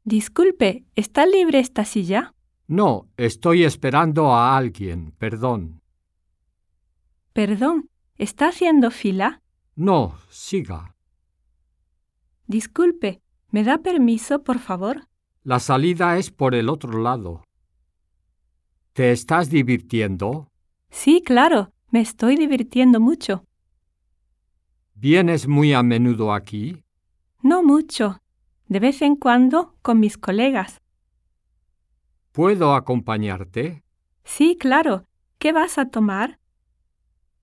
Disculpe, ¿está libre esta silla? No, estoy esperando a alguien, perdón. Perdón, ¿está haciendo fila? No, siga. Disculpe, ¿me da permiso, por favor? La salida es por el otro lado. ¿Te estás divirtiendo? Sí, claro, me estoy divirtiendo mucho. ¿Vienes muy a menudo aquí? No mucho. De vez en cuando con mis colegas. ¿Puedo acompañarte? Sí, claro. ¿Qué vas a tomar?